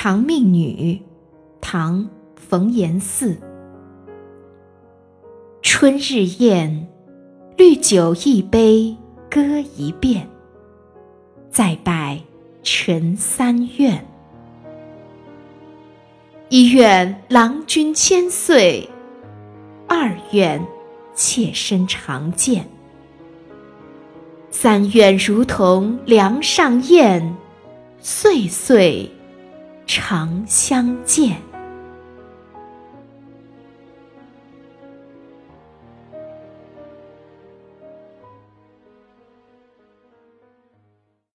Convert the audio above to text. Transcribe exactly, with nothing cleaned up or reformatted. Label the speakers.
Speaker 1: 长命女，唐·冯延巳。春日宴，绿酒一杯歌一遍，再拜陈三愿。一愿郎君千岁，二愿妾身长健。三愿如同梁上燕，岁岁常相见。